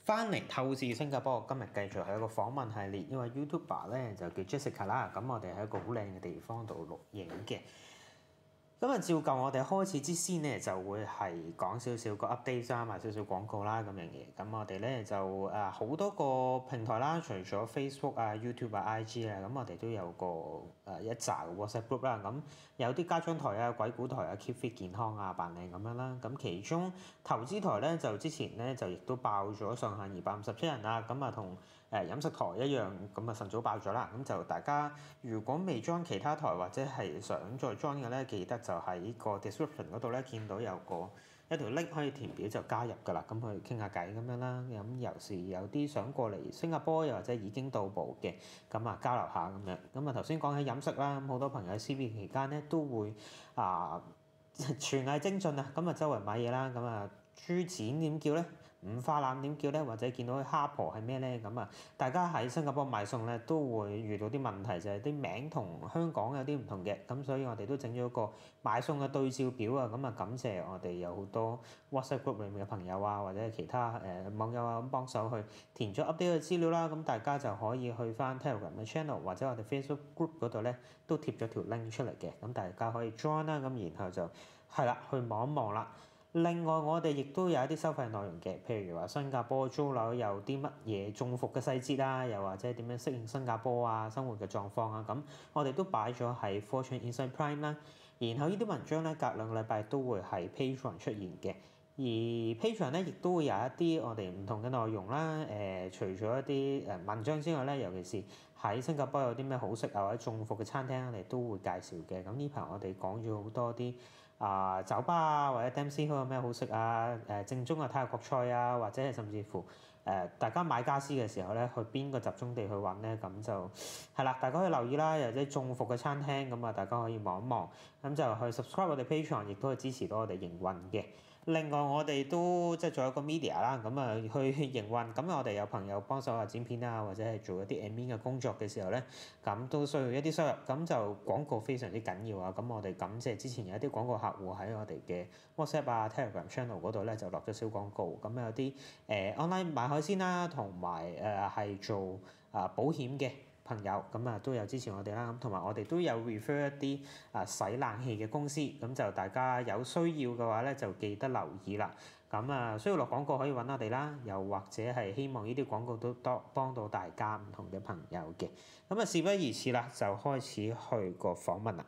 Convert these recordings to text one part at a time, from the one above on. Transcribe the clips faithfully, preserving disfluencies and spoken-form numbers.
翻嚟透視新加坡，今日繼續係一個訪問系列，因為 YouTuber 咧就叫 Jessica 啦，咁我哋喺一個好靚嘅地方度錄影嘅。咁啊，照舊我哋開始之先咧，就會係講少少個 update 啦，賣少少廣告啦咁樣嘢。咁我哋咧就誒好多個平台啦，除咗 Facebook 啊、YouTube 啊、I G 啊，咁我哋都有個誒一紮嘅 WhatsApp group 啦。咁有啲家長台啊、鬼故台啊、keep fit 健康啊、扮靚咁樣啦。咁其中投資台咧就之前咧就亦都爆咗上限二百五十七人啦。咁啊同誒飲食台一樣，咁啊晨早爆咗啦。咁就大家如果未 join 其他台或者係想再 join 嘅咧，記得就喺個 description 嗰度咧見到有個一條 link 可以填表就加入㗎啦。咁去傾下偈咁樣啦。咁有時有啲想過嚟新加坡又或者已經到埗嘅，咁啊交流下咁樣。咁啊頭先講起飲食啦，咁好多朋友喺 C B 期間咧都會啊廚藝精進啊，咁啊周圍買嘢啦，咁啊豬展點叫咧？五花腩點叫咧？或者見到啲蝦婆係咩咧？咁啊，大家喺新加坡買餸咧都會遇到啲問題，就係啲名同香港有啲唔同嘅，咁所以我哋都整咗個買餸嘅對照表啊。咁啊，感謝我哋有好多 WhatsApp group 裏面嘅朋友啊，或者係其他誒、呃、網友啊咁幫手去填咗 update 嘅資料啦。咁大家就可以去翻 Telegram 嘅 channel 或者我哋 Facebook group 嗰度咧都貼咗條 link 出嚟嘅，咁大家可以 join 啦。咁然後就係啦，去望一望啦。另外，我哋亦都有一啲收費內容嘅，譬如話新加坡租樓有啲乜嘢中伏嘅細節啦，又或者點樣適應新加坡啊生活嘅狀況啊，咁我哋都擺咗喺 Fortune Insight Prime 啦。然後呢啲文章咧，隔兩個禮拜都會喺 Patreon 出現嘅。而 Patreon 咧，亦都會有一啲我哋唔同嘅內容啦。誒、呃，除咗一啲誒文章之外咧，尤其是喺新加坡有啲咩好食啊或者中伏嘅餐廳，我哋都會介紹嘅。咁呢排我哋講咗好多啲啊、呃、酒吧啊或者 Dempsey Hill 有咩好食啊，誒正宗嘅泰國菜啊，或者係甚至乎誒、呃、大家買家私嘅時候咧，去邊個集中地去揾咧，咁就係啦，大家可以留意啦。又或者中伏嘅餐廳，咁啊大家可以望一望，咁就去 subscribe 我哋 Patreon，亦都可以支持到我哋營運嘅。另外我哋都即係做一個 media 啦，咁啊去營運，咁我哋有朋友幫手啊剪片啊，或者係做一啲 admin 嘅工作嘅時候咧，咁都需要一啲收入，咁就廣告非常之緊要啊！咁我哋感謝之前有一啲廣告客戶喺我哋嘅 WhatsApp 啊 Telegram channel 嗰度咧就落咗小廣告，咁有啲誒、呃、online 買海鮮啦，同埋誒係做啊、呃、保險嘅朋友，咁啊都有支持我哋啦，咁同埋我哋都有 refer 一啲啊洗冷氣嘅公司，咁就大家有需要嘅話咧，就記得留意啦。咁啊需要落廣告可以揾我哋啦，又或者係希望呢啲廣告都多幫到大家唔同嘅朋友嘅。咁啊事不宜遲啦，就開始去個訪問啦。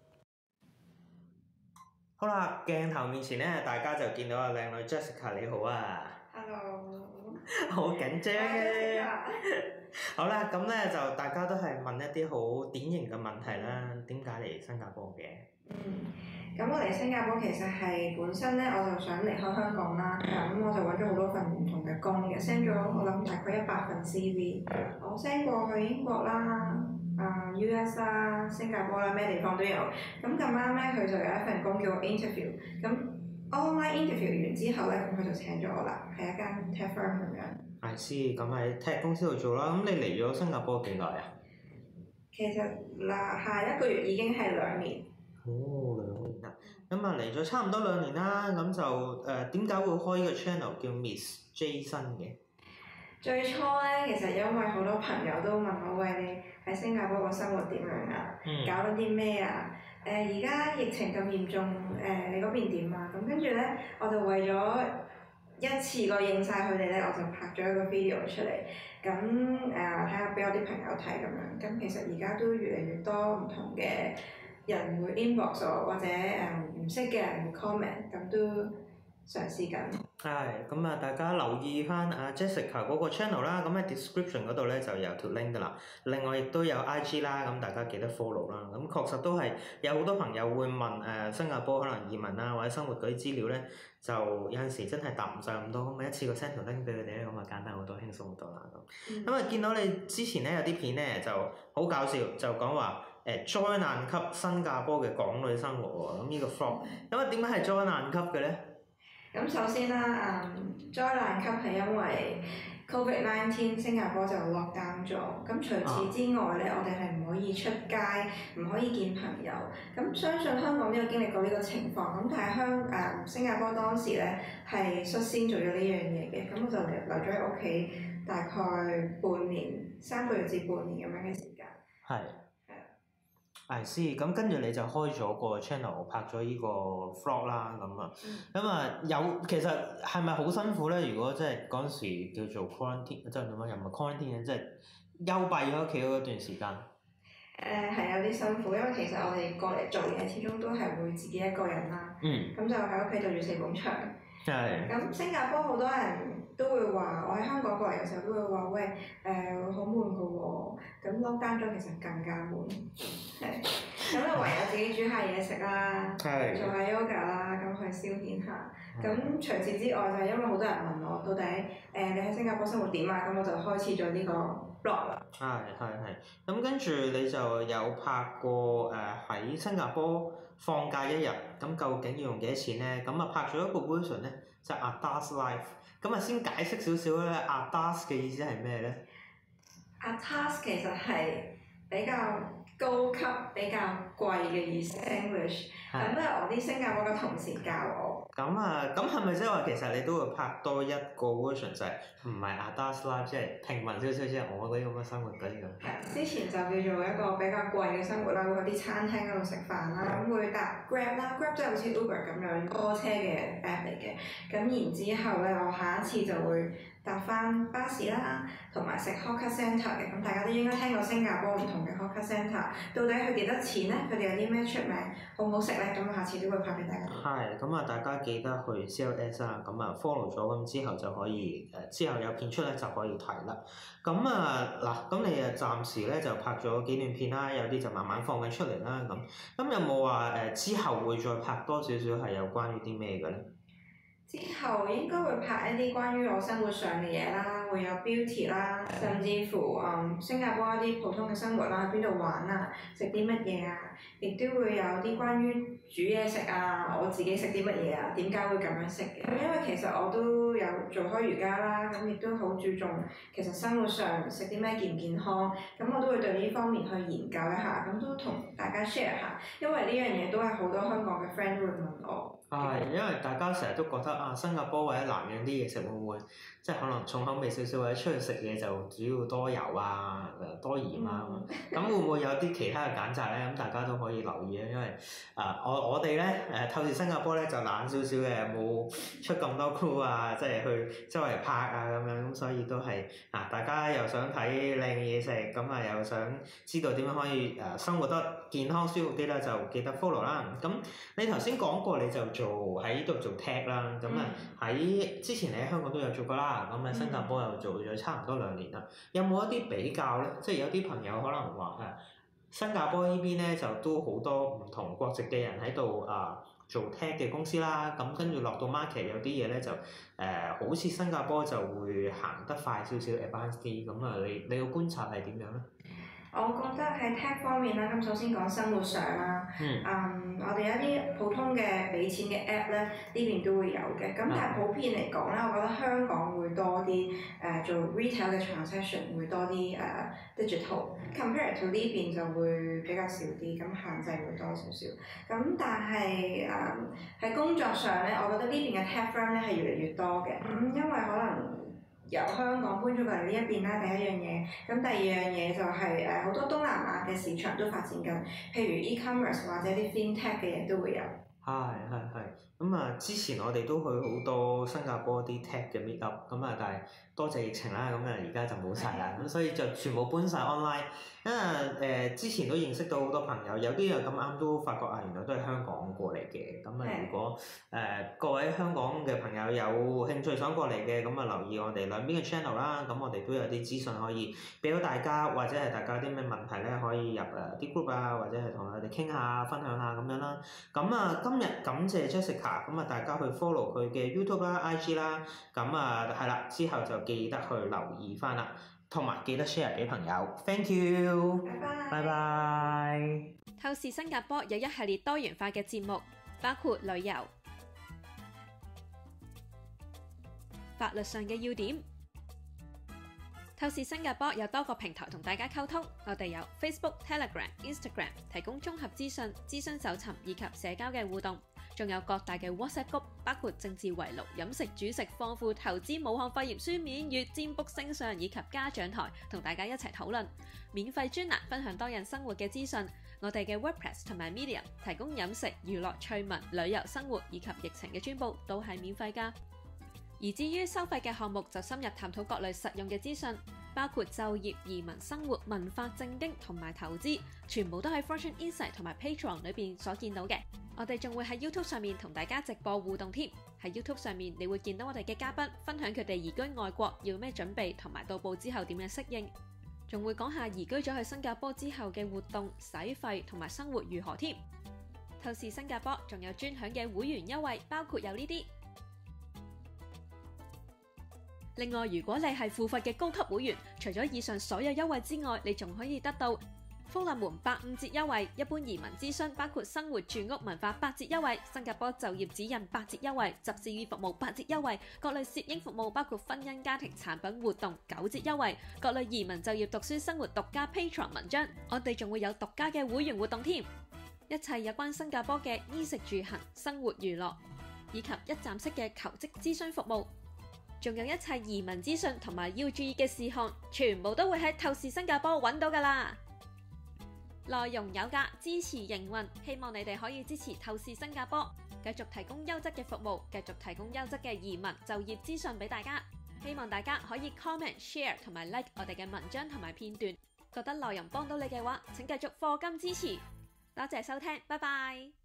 好啦，鏡頭面前咧，大家就見到阿靚女 Jessica 你好啊。 Hello。 好緊張嘅。好啦，咁咧就大家都係問一啲好典型嘅問題啦。點解嚟新加坡嘅？ 嗯，咁我嚟新加坡其實係本身咧，我就想離開香港啦。咁我就揾咗好多份唔同嘅工嘅 ，send 咗我諗大概一百份 C V。我 send 過去英國啦、啊 U S 啦、新加坡啦，咩地方都有。咁咁啱咧，佢就有一份工叫我 interview。咁 online interview 完之後咧，咁佢就請咗我啦，係一間 tech firm 咁樣。 I see，咁喺 tech 公司度做啦。咁你嚟咗新加坡幾耐啊？ 其實嗱，下一個月已經係兩年。 哦，兩年啦。咁啊嚟咗差唔多兩年啦。咁就誒點解會開呢個 channel 叫 Miss Jason 嘅？ 最初咧，其實因為好多朋友都問我，喂，你喺新加坡個生活點樣啊？嗯、搞緊啲咩啊？誒而家疫情咁嚴重，誒、呃、你嗰邊點啊？咁跟住咧，我就為咗一次過應晒佢哋咧，我就拍咗一個 video 出嚟，咁誒睇下俾我啲朋友睇咁樣。咁其實而家都越嚟越多唔同嘅人會 inbox 我，或者誒唔識嘅人會 comment，咁都嘗試緊。 係，咁啊大家留意翻阿 Jessica 嗰個 channel 啦，咁喺 description 嗰度咧就有條 link 噶啦。另外亦都有 I G 啦，咁大家記得 follow 啦。咁確實都係有好多朋友會問誒、呃、新加坡可能移民啊或者生活嗰啲資料咧，就有陣時真係答唔上咁多，咁咪一次過 send 條 link 俾佢哋咧，咁啊簡單好多，輕鬆好多啦咁。咁啊、嗯、見到你之前咧有啲片咧就好搞笑，就講話誒災難級新加坡嘅港女生活喎，咁呢個 vlog，咁啊點解係災難級嘅咧？ 咁首先啦，嗯，災難級係因為 Covid 十九 新加坡就 lock down 咗，咁除此之外咧，我哋係唔可以出街，唔可以見朋友。咁相信香港都有經歷過呢個情況，咁但係香誒新加坡當時咧係率先做咗呢樣嘢嘅，咁我就留咗喺屋企大概半年、三個月至半年咁樣嘅時間。 係。係先，咁跟住你就開咗個 channel，拍咗呢個 vlog 啦，咁啊，咁啊有其實係咪好辛苦咧？如果即係嗰陣時叫做 quarantine，即係點樣又唔係 quarantine 即係幽閉咗屋企嗰段時間。 誒係、呃、有啲辛苦，因為其實我哋過嚟做嘢，始終都係會自己一個人啦。嗯。咁就喺屋企對住四埲牆。係。咁新加坡好多人都會話，我喺香港過嚟嘅時候都會話，喂誒好悶㗎喎，咁 lockdown 咗其實更加悶。係。咁就唯有自己煮下嘢食啦，做下 yoga 啦，咁去消遣下。咁除此之外，就係因為好多人問我，到底誒、呃、你喺新加坡生活點啊？咁我就開始咗呢個 blog 啦。係係係。咁跟住你就有拍過誒喺、呃、新加坡放假一日，咁究竟要用幾多錢咧？咁啊拍咗一個 version 咧，就係 Atas Life。咁啊先解釋少少咧 ，Atas 嘅意思係咩咧 ？Atas 其實係比較高級、比較貴嘅意思 English。咁都係我啲新加坡嘅同事教我。 咁啊，咁係咪即係話其實你都會拍多一個 version 就係唔係 Atas Life， 即係平民少少，即係我嗰啲咁嘅生活嗰啲咁？ 係，之前就叫做一個比較貴嘅生活啦，會去啲餐廳嗰度食飯啦，咁會搭 Grab 啦 ，Grab 即係好似 Uber 咁樣多車嘅 app 嚟嘅。咁然之後咧，我下一次就會搭翻巴士啦，同埋食 hawker centre 嘅。咁大家都應該聽過新加坡唔同嘅 hawker centre，到底佢幾多錢咧？佢哋有啲咩出名？好唔好食咧？咁下次都會拍俾大家。係， 咁啊，大家記得去 C L S 啦，咁啊 follow 咗，咁之後就可以誒，之後有片出咧就可以睇啦。咁啊嗱，咁你啊暫時咧就拍咗幾段片啦，有啲就慢慢放緊出嚟啦。咁，咁有冇話誒之後會再拍多少少係有關於啲咩嘅咧？ 之後應該會拍一啲關於我生活上嘅嘢啦，會有 beauty 啦，甚至乎嗯新加坡一啲普通嘅生活啦，邊度玩啊，食啲乜嘢啊，亦都會有啲關於煮嘢食啊，我自己食啲乜嘢啊，點解會咁樣食嘅？因為其實我都有做開瑜伽啦，咁亦都好注重其實生活上食啲咩健唔健康，咁我都會對呢方面去研究一下，咁都同大家 share 下，因為呢樣嘢都係好多香港嘅 friend 都會問我。 係，因為大家成日都覺得啊，新加坡或者南洋啲嘢食會唔會即係可能重口味少少，或者出去食嘢就主要多油啊、多鹽啊咁，咁會唔會有啲其他嘅揀擇咧？咁大家都可以留意啊，因為啊，我我哋咧誒透視新加坡咧就懶少少嘅，冇出咁多 crew 啊，即係去周圍拍啊咁樣，咁所以都係啊，大家又想睇靚嘅嘢食，咁啊又想知道點樣可以誒生活得健康舒服啲咧，就記得 follow 啦。咁你頭先講過你就做喺呢度做 tech 啦，咁啊喺之前你喺香港都有做過啦，咁喺新加坡又做咗差唔多兩年啦。有冇一啲比較咧？即係有啲朋友可能話誒，新加坡呢邊咧就都好多唔同國籍嘅人喺度啊做 tech 嘅公司啦，咁跟住落到 market 有啲嘢咧就誒、呃、好似新加坡就會行得快少少 advanced 啲，咁啊你你個觀察係點樣咧？ 我覺得喺 tech 方面啦，咁首先講生活上啦，嗯，嗯，我哋有一啲普通嘅俾錢嘅 app 咧，呢邊都會有嘅。咁但係普遍嚟講咧，我覺得香港會多啲誒、呃、做 retail 嘅 transaction 會多啲誒、呃、digital，compare to 呢邊就會比較少啲，咁限制會多少少。咁但係誒喺工作上咧，我覺得呢邊嘅 tech firm 咧係越嚟越多嘅，咁、嗯、因為可能由香港搬咗過嚟呢一邊啦，第一樣嘢。咁第二樣嘢就係誒好多東南亞嘅市場都發展緊，譬如 e-commerce 或者啲 FinTech 嘅嘢都會有。係係係。 咁啊，之前我哋都去好多新加坡啲 tech 嘅 meet up，咁啊，但係多謝疫情啦，咁啊而家就冇晒啦，咁所以就全部搬晒 online。因為誒、呃、之前都認識到好多朋友，有啲又咁啱都發覺啊，原來都係香港過嚟嘅。咁啊，如果誒、呃、各位香港嘅朋友有興趣想過嚟嘅，咁啊留意我哋兩邊嘅 channel 啦。咁我哋都有啲資訊可以俾到大家，或者係大家有啲咩問題咧，可以入誒啲 group 啊，或者係同我哋傾下、分享下咁樣啦。咁啊，今日感謝 Jessica，咁啊大家去 follow 佢嘅 YouTube 啦、I G 啦，咁啊係啦，之後就記得去留意翻啦。同埋記得 share 俾朋友 ，thank you，拜拜。 透視新加坡有一系列多元化嘅節目，包括旅遊、法律上嘅要點。透視新加坡有多個平台同大家溝通，我哋有 Facebook、Telegram、Instagram 提供綜合資訊、諮詢搜尋以及社交嘅互動。 仲有各大嘅 WhatsApp group，包括政治圍爐、飲食煮食、豐富投資、武漢肺炎書面語、占卜星相以及家長台，同大家一齊討論。免費專欄分享多人生活嘅資訊。我哋嘅 WordPress 同埋 Medium 提供飲食、娛樂、趣聞、旅遊、生活以及疫情嘅專報，都係免費㗎。而至於收費嘅項目，就深入探討各類實用嘅資訊，包括就業、移民、生活、文化、政經同埋投資，全部都喺 Fortune Insight 同埋 Patreon 裏邊所見到嘅。我哋仲會喺 YouTube 上面同大家直播互動添。喺 YouTube 上面，你會見到我哋嘅嘉賓分享佢哋移居外國要咩準備，同埋到埗之後點樣適應。仲會講下移居咗去新加坡之後嘅活動、使費同埋生活如何添。透視新加坡仲有專享嘅會員優惠，包括有呢啲。另外，如果你係付費嘅高級會員，除咗以上所有優惠之外，你仲可以得到福利門八五折優惠、一般移民諮詢包括生活住屋文化八折優惠、新加坡就業指引八折優惠、執事語服務八折優惠、各類攝影服務包括婚姻家庭產品活動九折優惠、各類移民就業讀書生活獨家 Patreon 文章，我哋仲會有獨家嘅會員活動添。一切有關新加坡嘅衣食住行、生活娛樂以及一站式嘅求職諮詢服務，仲有一切移民資訊同埋要注意嘅事項，全部都會喺透視新加坡揾到㗎啦。內容有價，支持營運，希望你哋可以支持透視新加坡，繼續提供優質嘅服務，繼續提供優質嘅移民就業資訊俾大家。希望大家可以 comment、share 同埋 like 我哋嘅文章同埋片段。覺得內容幫到你嘅話，請繼續課金支持。多謝收聽，拜拜。